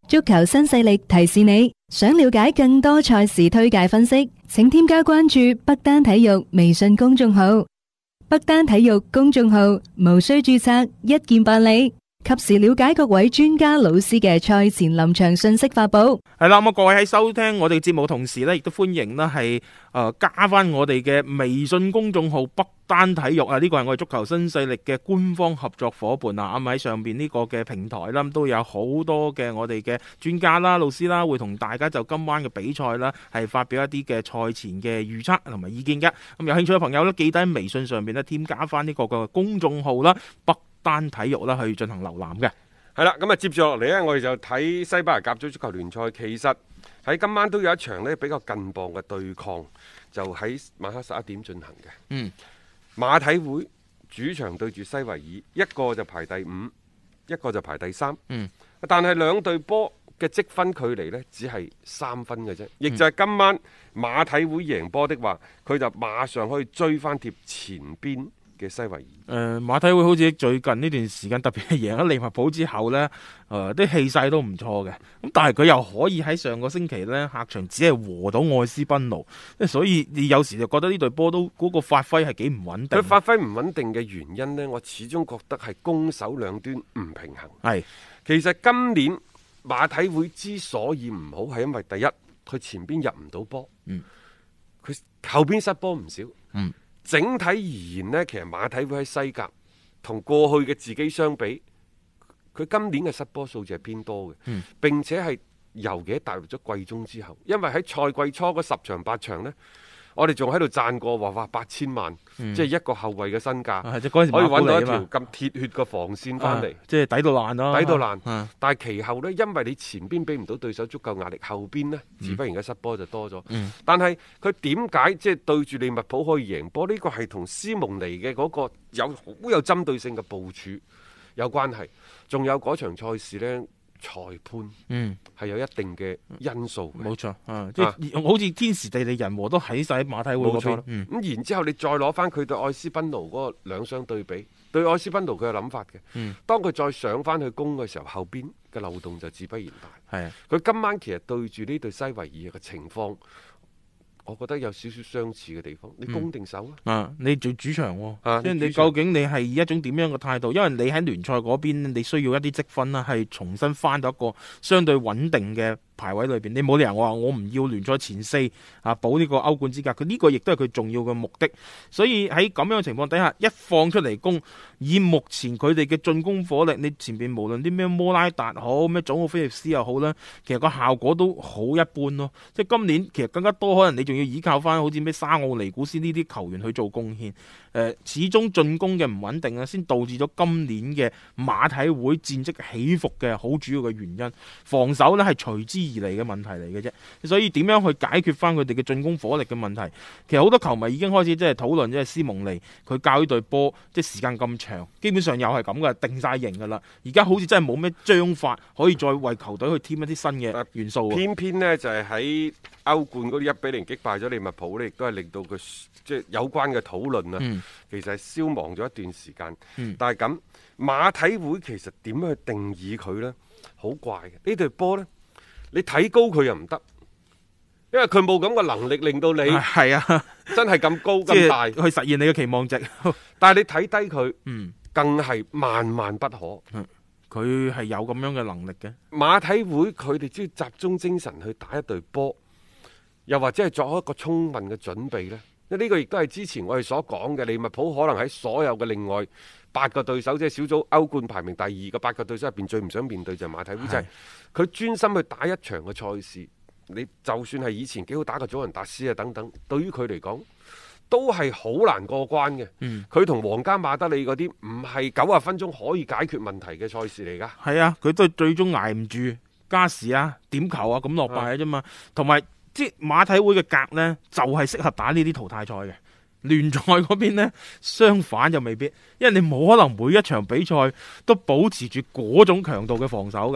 足球新勢力提示你，想了解更多賽事推介分析，請添加關注北單體育微信公眾號。北單體育公眾號無需註冊，一鍵辦理，及時了解各位專家老師嘅賽前臨場信息發布。 係啦，咁各位喺收聽我哋嘅節目同時呢，亦都歡迎啦係加翻我哋嘅微信公眾號北單體育啊！呢個係我哋足球新勢力嘅官方合作伙伴啊！咁喺上邊呢個嘅平台啦，都有好多嘅我哋嘅專家啦、老師啦，會同大家就今晚嘅比賽啦，係發表一啲嘅賽前嘅預測同埋意見嘅。咁有興趣嘅朋友呢，記得喺微信上邊呢添加翻呢個嘅公眾號啦，北單體育啦，去進行瀏覽嘅。 係啦，咁啊接住落嚟呢，我哋就睇西班牙甲組足球聯賽。其實喺今晚都有一場呢比較近磅嘅對抗，就喺晚黑11點進行嘅。馬體會主場對住西維爾，一個就排第5，一個就排第3。但係兩隊波嘅積分距離呢，只係3分嘅啫。亦就係今晚馬體會贏波的話，佢就馬上可以追翻貼前邊嘅西維爾。 馬體會好似最近呢段時間，特別係贏咗利物浦之後呢，啲氣勢都唔錯嘅。咁但係佢又可以喺上個星期呢，客場只係和到愛斯賓奴，所以你有時就覺得呢隊波都嗰個發揮係幾唔穩定。 佢發揮唔穩定嘅原因呢，我始終覺得係攻守兩端唔平衡。 係， 其實今年馬體會之所以唔好，係因為第一，佢前邊入唔到波，佢後邊失波唔少。整體而言呢，其實馬體會喺西甲同過去嘅自己相比，佢今年嘅失波數字係偏多嘅，並且係尤其踏入咗季中之後，因為喺賽季初嗰10場8場呢，我哋仲喺度讚過話哇8000萬，即係一個後衛嘅身價，可以揾到一條咁鐵血嘅防線翻嚟， 即係抵到爛咯， 抵到爛。但係其後呢，因為你前邊俾唔到對手足夠壓力，後邊呢，自不然嘅失波就多咗。但係佢點解即係對住利物浦可以贏波？呢個係同斯蒙尼嘅嗰個好有針對性嘅部署有關係。仲有嗰場賽事呢，裁判係有一定嘅因素。 冇錯，即係好似天時地利人和都喺晒馬體會嗰邊。 咁然之後你再攞翻佢對愛斯賓奴嗰個兩相對比，對愛斯賓奴佢有諗法嘅。當佢再上翻去攻嘅時候，後邊嘅漏洞就自不然大。係啊，佢今晚其實對住呢隊西維爾嘅情況，我覺得有少少相似嘅地方。你攻定守你做主場即係你究竟你係以一種點樣嘅態度？因為你喺聯賽嗰邊，你需要一啲積分啦，係重新翻到一個相對穩定嘅排位裏邊。你冇理由話我唔要聯賽前4保呢個歐冠資格。佢呢個亦都係佢重要嘅目的。所以喺咁樣嘅情況底下，一放出嚟攻，以目前佢哋嘅進攻火力，你前邊無論啲咩摩拉達好，咩祖奧菲利斯又好啦，其實個效果都好一般咯。即係今年其實更加多可能你仲要依靠翻好似咩沙奧尼古斯呢啲球員去做貢獻。始終進攻嘅唔穩定啊，先導致咗今年嘅馬體會戰績起伏嘅好主要嘅原因。防守呢係隨之而嚟嘅問題嚟嘅啫。所以點樣去解決翻佢哋嘅進攻火力嘅問題？其實好多球迷已經開始即係討論，即係斯蒙尼佢教呢隊波，即係時間咁長，基本上又係咁嘅，定晒型噶啦。而家好似真係冇咩章法可以再為球隊去添一啲新嘅元素。 偏偏呢就係喺歐冠嗰啲1-0擊敗咗利物浦呢，亦都係令到佢即係有關嘅討論啊。其實係消亡咗一段時間。但係咁馬體會其實點樣去定義佢呢？好怪嘅呢隊波呢，你睇高佢又唔得，因為佢冇咁嘅能力令到你係啊， 真係咁高咁大去實現你嘅期望值。 但係你睇低佢，更係萬萬不可。 佢係有咁樣嘅能力嘅。 馬體會佢哋只要集中精神去打一隊波，又或者係作一個充分嘅準備呢。呢個亦都係之前我哋所講嘅，利物浦可能喺所有嘅另外8個對手，即係小組歐冠排名第2嘅8個對手入邊，最唔想面對就係馬體會。就係佢專心去打一場嘅賽事，你就算係以前幾好打嘅祖雲達斯啊等等，對於佢嚟講都係好難過關嘅。佢同皇家馬德里嗰啲唔係90分鐘可以解決問題嘅賽事嚟噶。 係啊，佢都係最終捱唔住加時啊、點球啊咁落敗嘅啫嘛。同埋即係馬體會嘅格呢，就係適合打呢啲淘汰賽嘅。聯賽嗰邊呢，相反就未必，因為你冇可能每一場比賽都保持住嗰種強度嘅防守噶。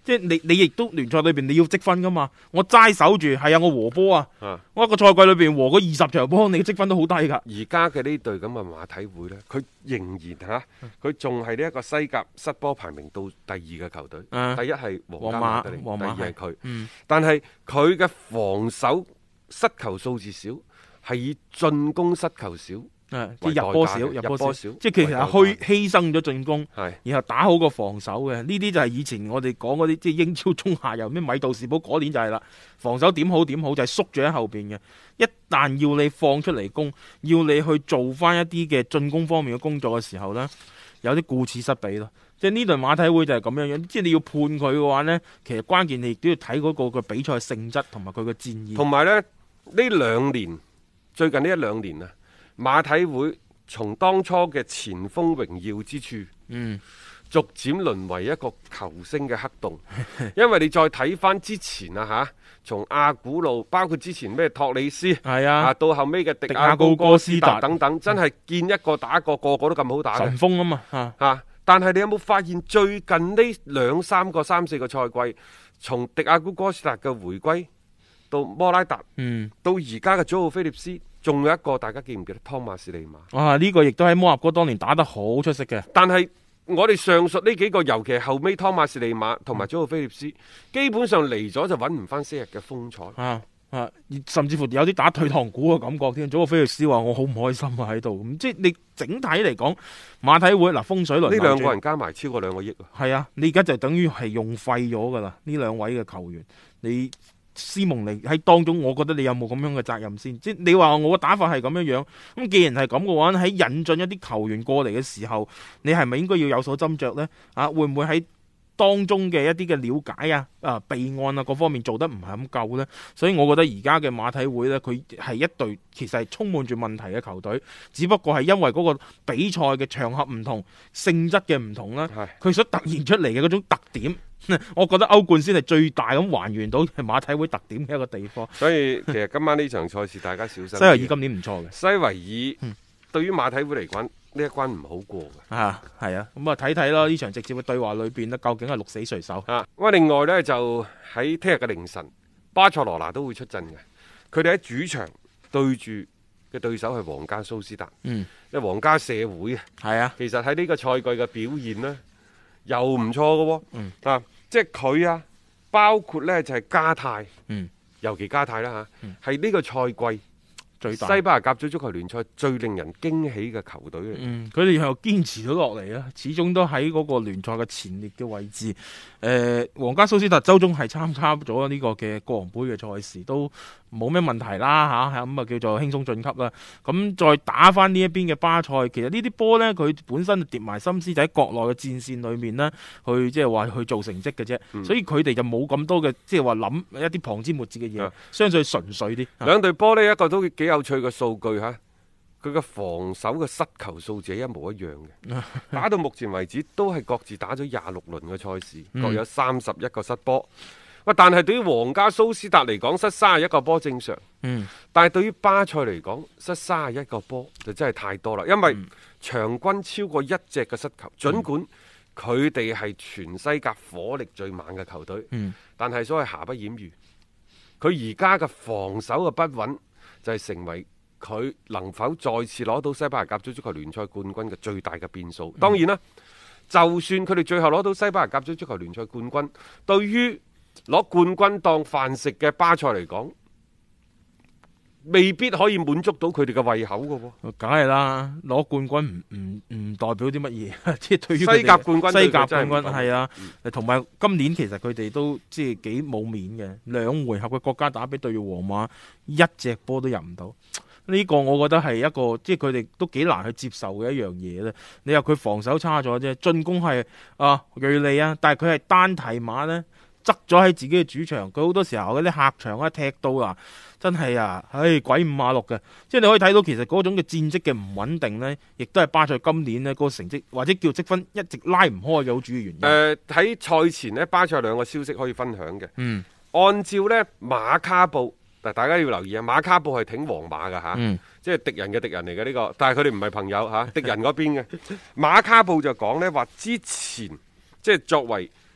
即係你亦都聯賽裏邊你要積分噶嘛，我齋守住係啊，我和波啊，我一個賽季裏邊和嗰20場波，你嘅積分都好低噶。 而家嘅呢隊咁嘅馬體會呢，佢仍然佢仲係呢一個西甲失波排名到第2嘅球隊，第一係皇家馬德里，第二係佢，但係佢嘅防守失球數字少，係以進攻失球少。 即係入波少，即係其實係犧牲咗進攻，然後打好個防守嘅。呢啲就係以前我哋講嗰啲，即係英超中下游咩米杜士堡嗰年就係啦。防守點好就係縮住喺後邊嘅。一旦要你放出嚟攻，要你去做翻一啲嘅進攻方面嘅工作嘅時候呢，有啲顧此失彼咯。即係呢隊馬體會就係咁樣樣，即係你要判佢嘅話呢，其實關鍵你亦都要睇嗰個比賽性質同埋佢嘅戰意。 同埋呢2年，最近呢1-2年啊。馬體會從當初嘅前鋒榮耀之處，逐漸淪為一個球星嘅黑洞。因為你再睇翻之前啊，從阿古路，包括之前咩托里斯，到後尾嘅迪亞高哥斯達等等，真係見一個打一個，個個都咁好打嘅神鋒啊嘛。 但係你有冇發現最近呢3-4個賽季，從迪亞高哥斯達嘅回歸到摩拉達，到而家嘅祖奧菲利斯。仲有一個大家記唔記得湯馬士利馬？ 呢個亦都喺摩納哥當年打得好出色嘅。 但係我哋上述呢幾個，尤其係後尾湯馬士利馬同埋祖奧菲利斯，基本上嚟咗就揾唔翻昔日嘅風采。 甚至乎有啲打退堂鼓嘅感覺添。祖奧菲利斯話我好唔開心啊喺度。咁即係你整體嚟講，馬體會風水輪流轉， 呢2個人加埋超過2個億。 係啊，你而家就等於係用廢咗噶啦。呢2位嘅球員，你。斯蒙尼喺當中，我覺得你有冇咁樣嘅責任先？即係你話我嘅打法係咁樣樣，咁既然係咁嘅話，喺引進一啲球員過嚟嘅時候，你係咪應該要有所斟酌呢？會唔會喺當中嘅一啲嘅了解備案各方面做得唔係咁夠呢？所以我覺得而家嘅馬體會呢，佢係一隊其實係充滿住問題嘅球隊，只不過係因為嗰個比賽嘅場合唔同、性質嘅唔同啦，佢所突現出嚟嘅嗰種特點。我覺得歐冠先係最大咁還原到係馬體會特點嘅一個地方。 所以其實今晚呢場賽事大家小心。西維爾今年唔錯嘅。西維爾對於馬體會嚟講呢一關唔好過嘅。 係啊，咁睇睇咯，呢場直接嘅對話裏邊呢，究竟係鹿死誰手？ 另外呢，就喺聽日嘅凌晨，巴塞羅那都會出陣嘅。佢哋喺主場對住嘅對手係皇家蘇斯達。因為皇家社會其實喺呢個賽季嘅表現呢，又唔錯嘅喎。即係佢包括呢就係加泰，尤其加泰啦係呢個賽季最大西班牙甲組足球聯賽最令人驚喜嘅球隊嚟。 佢哋又堅持咗落嚟啦，始終都喺嗰個聯賽嘅前列嘅位置。皇家蘇斯達周中係參加咗呢個嘅國王杯嘅賽事，都冇咩問題啦咁叫做輕鬆晉級啦。咁再打翻呢一邊嘅巴塞，其實呢啲波呢，佢本身跌埋心思就喺國內嘅戰線裏面呢，去即係話去做成績嘅啫。所以佢哋就冇咁多嘅即係話諗一啲旁枝末節嘅嘢，相對純粹啲。 兩隊波呢，一個都幾有趣嘅數據佢嘅防守嘅失球數字係一模一樣嘅。打到目前為止都係各自打咗26輪嘅賽事，各有31個失波。但係對於皇家蘇斯達嚟講，失31個波正常。但係對於巴塞嚟講，失31個波就真係太多啦。因為場均超過1隻嘅失球，儘管佢哋係全西甲火力最猛嘅球隊，但係所謂瑕不掩瑜，佢而家嘅防守嘅不穩就係成為佢能否再次攞到西班牙甲組足球聯賽冠軍嘅最大嘅變數。當然啦，就算佢哋最後攞到西班牙甲組足球聯賽冠軍，對於攞冠軍當飯食嘅巴塞嚟講，未必可以滿足到佢哋嘅胃口嘅喎。 梗係啦，攞冠軍唔代表啲乜嘢，即係對於西甲冠軍， 西甲冠軍係啊，同埋今年其實佢哋都即係幾冇面嘅，2回合嘅國家打比對住皇馬，1隻波都入唔到。呢個我覺得係一個即係佢哋都幾難去接受嘅一樣嘢咧。你話佢防守差咗啫，進攻係銳利啊，但係佢係單提馬呢，側咗喺自己嘅主場。佢好多時候嗰啲客場踢到真係鬼五馬六嘅。即係你可以睇到其實嗰種嘅戰績嘅唔穩定呢，亦都係巴塞今年呢個成績或者叫積分一直拉唔開嘅好主要原因。 喺賽前呢，巴塞有2個消息可以分享嘅。按照呢馬卡報。大家要留意馬卡報係挺皇馬嘅即係敵人嘅敵人嚟嘅呢個，但係佢哋唔係朋友敵人嗰邊嘅。馬卡報就講呢話之前即係作為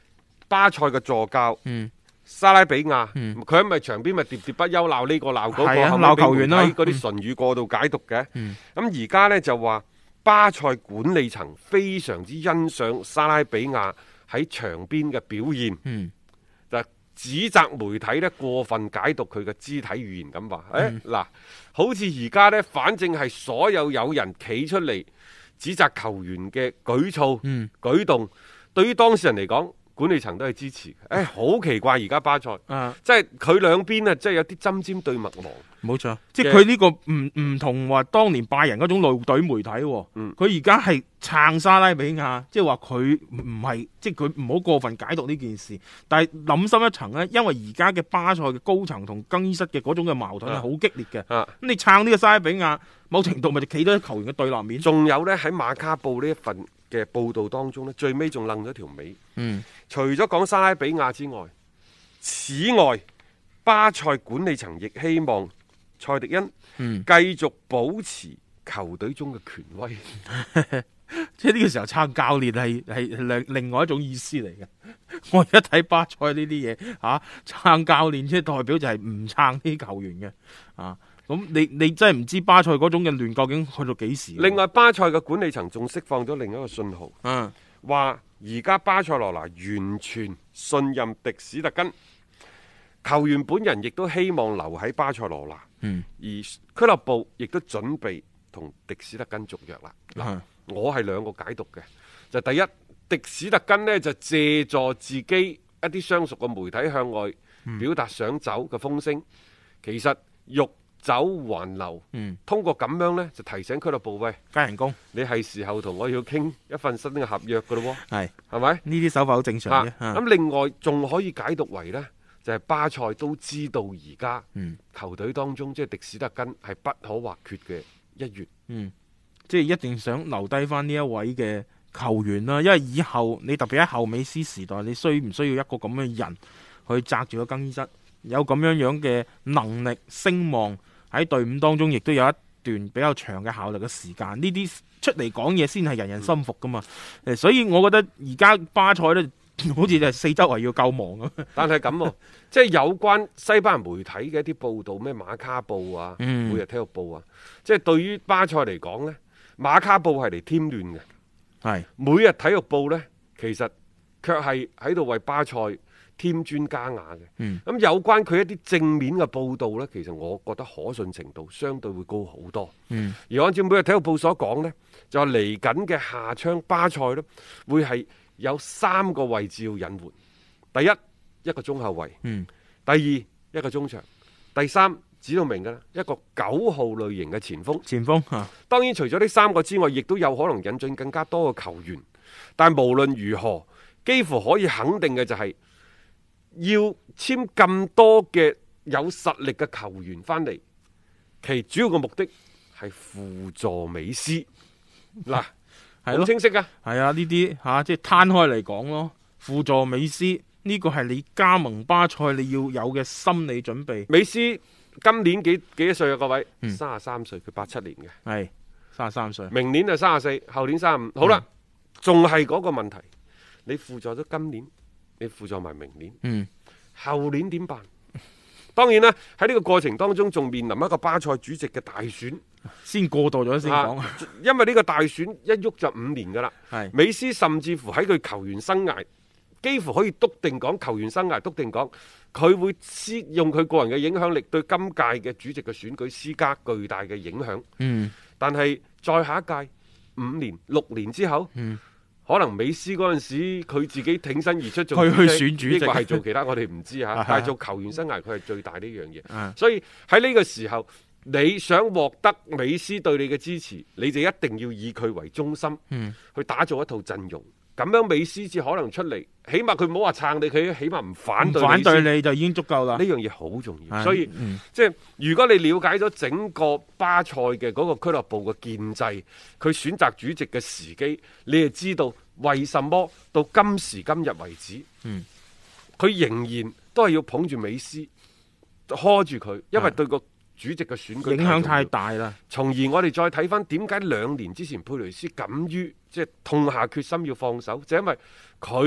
巴塞嘅助教。沙拉比亞，佢喺咪場邊咪喋喋不休鬧呢個鬧嗰個， 鬧球員啦， 嗰啲唇語過度解讀嘅。咁而家呢，就話巴塞管理層非常之欣賞沙拉比亞喺場邊嘅表現，就指責媒體呢過分解讀佢嘅肢體語言咁話。嗱，好似而家呢，反正係所有人企出嚟指責球員嘅舉措、舉動，對於當事人嚟講，管理層都係支持嘅。好奇怪而家巴塞，即係佢兩邊啊，即係有啲針尖對麥芒。 冇錯，即係佢呢個唔同話當年拜仁嗰種怒隊媒體，佢而家係撐沙拉比亞，即係話佢唔係，即係佢唔好過分解讀呢件事。但係諗深一層呢，因為而家嘅巴塞嘅高層同更衣室嘅嗰種嘅矛盾係好激烈嘅。咁你撐呢個沙拉比亞，某程度咪就企到喺球員嘅對立面。 仲有呢，喺馬卡報呢一份嘅報道當中呢，最尾仲愣咗條尾。除咗講沙拉比亞之外，此外巴塞管理層亦希望蔡迪恩繼續保持球隊中嘅權威。 即係呢個時候撐教練係另外一種意思嚟嘅。我而家睇巴塞呢啲嘢撐教練，即係代表就係唔撐啲球員嘅。咁你真係唔知巴塞嗰種嘅亂究竟去到幾時。 另外巴塞嘅管理層仲釋放咗另一個信號，話而家巴塞羅那完全信任迪史特根，球員本人亦都希望留喺巴塞羅那，而俱樂部亦都準備同迪史特根續約啦。我係兩個解讀嘅，就第一，迪史特根呢就借助自己一啲相熟嘅媒體向外表達想走嘅風聲，其實欲走還留，通過咁樣呢，就提醒俱樂部，喂， 加人工， 你係時候同我要傾一份新嘅合約噶咯喎，係咪？ 呢啲手法好正常嘅。 咁另外仲可以解讀為呢，就係巴塞都知道而家球隊當中即係迪史特根係不可或缺嘅一員， 即係一定想留低翻呢一位嘅球員啦，因為以後你特別喺後美斯時代，你需唔需要一個咁嘅人去揸住個更衣室，有咁樣嘅能力聲望喺隊伍當中，亦都有一段比較長嘅效力嘅時間，呢啲出嚟講嘢先係人人心服噶嘛。所以我覺得而家巴塞呢，好似就係四周圍要救亡咁。 但係咁，即係有關西班牙媒體嘅一啲報道，咩馬卡報啊、每日體育報啊，即係對於巴塞嚟講呢，馬卡報係嚟添亂嘅，係每日體育報呢，其實卻係喺度為巴塞添磚加瓦嘅。咁有關佢一啲正面嘅報道呢，其實我覺得可信程度相對會高好多。而按照每日體育報所講呢，就話嚟緊嘅夏窗巴塞呢，會係有3個位置要引援。第一，一個中後衛；第二，一個中場；第三，指到明㗎啦，一個9號類型嘅前鋒。 前鋒當然除咗呢3個之外，亦都有可能引進更加多嘅球員。但無論如何，幾乎可以肯定嘅就係要簽咁多嘅有實力嘅球員翻嚟，其主要嘅目的係輔助美斯。嗱，好清晰㗎。 係啊，呢啲即係攤開嚟講咯，輔助美斯呢個係你加盟巴塞你要有嘅心理準備。 美斯今年幾多歲啊？各位，33歲，佢87年嘅， 係33歲。 明年就34，後年35。好啦，仲係嗰個問題，你輔助咗今年，你輔助埋明年，後年點辦？當然啦，喺呢個過程當中，仲面臨一個巴塞主席嘅大選， 先過渡咗先講。 因為呢個大選一喐就5年噶啦。 係美斯甚至乎喺佢球員生涯，幾乎可以篤定講，球員生涯篤定講，佢會用佢個人嘅影響力對今屆嘅主席嘅選舉施加巨大嘅影響。但係再下一屆5年、6年之後，可能美斯嗰陣時佢自己挺身而出做佢去選主席， 抑或係做其他我哋唔知嚇。但係做球員生涯佢係最大呢樣嘢。所以喺呢個時候，你想獲得美斯對你嘅支持，你就一定要以佢為中心，去打造一套陣容。咁樣美斯至可能出嚟，起碼佢唔好話撐你，佢起碼唔反對你就已經足夠啦。 呢樣嘢好重要。所以即係如果你了解咗整個巴塞嘅嗰個俱樂部嘅建制，佢選擇主席嘅時機，你就知道為什麼到今時今日為止，佢仍然都係要捧住美斯，拖住佢，因為對個主席嘅選舉影響太大啦。 從而我哋再睇翻點解2年之前佩雷斯敢於即係痛下決心要放手，就因為佢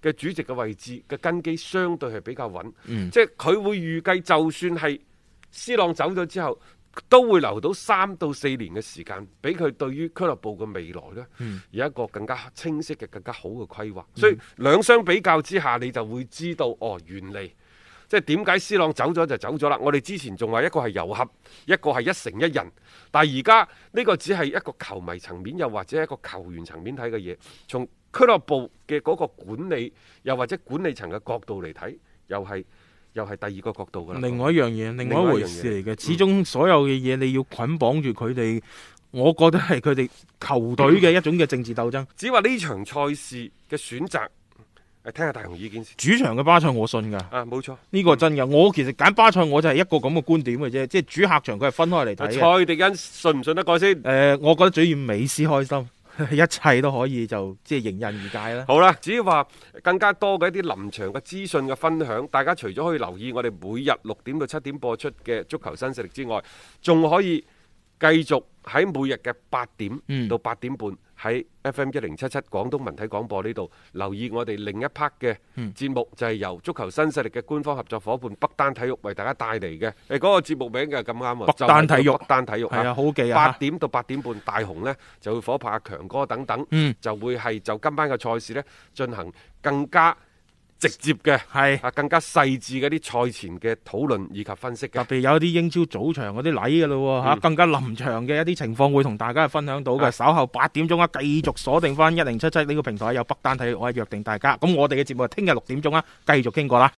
嘅主席嘅位置嘅根基相對係比較穩，即係佢會預計就算係C朗走咗之後，都會留到3到4年嘅時間，俾佢對於俱樂部嘅未來呢，有一個更加清晰嘅、更加好嘅規劃。所以兩相比較之下，你就會知道哦，原嚟即係點解 C 朗走咗就走咗啦。我哋之前仲話一個係遊俠，一個係一城一人，但係而家呢個只係一個球迷層面，又或者一個球員層面睇嘅嘢。從俱樂部嘅嗰個管理，又或者管理層嘅角度嚟睇，又係第二個角度㗎。 另外一樣嘢，另外一回事嚟嘅。始終所有嘅嘢你要捆綁住佢哋，我覺得係佢哋球隊嘅一種嘅政治鬥爭。 只話呢場賽事嘅選擇，聽下大雄意見先。 主場嘅巴塞我信㗎。 冇錯， 呢個真㗎。我其實揀巴塞我就係一個咁嘅觀點嘅啫，即係主客場佢係分開嚟睇嘅。 蔡迪恩信唔信得過先？ 我覺得主要美斯開心。一切都可以就即係迎刃而解啦。 好啦，只要話更加多嘅一啲臨場嘅資訊嘅分享，大家除咗可以留意我哋每日6點到7點播出嘅足球新勢力之外，仲可以繼續喺每日嘅8點到8點半喺 FM 1077廣東文體廣播呢度留意我哋另一 part 嘅節目，就係由足球新勢力嘅官方合作伙伴北單體育為大家帶嚟嘅。嗰個節目名嘅咁啱喎， 北單體育， 北單體育係啊，好記啊。 8點到8點半，大雄呢就會夥拍阿強哥等等，就會係就今晚嘅賽事呢進行更加直接嘅係更加細緻嘅啲賽前嘅討論以及分析嘅， 特別有啲英超早場嗰啲禮嘅咯，更加臨場嘅一啲情況會同大家分享到嘅。稍後8點鐘繼續鎖定翻1077呢個平台有北單體育，我係約定大家。咁我哋嘅節目係聽日6點鐘繼續傾過啦。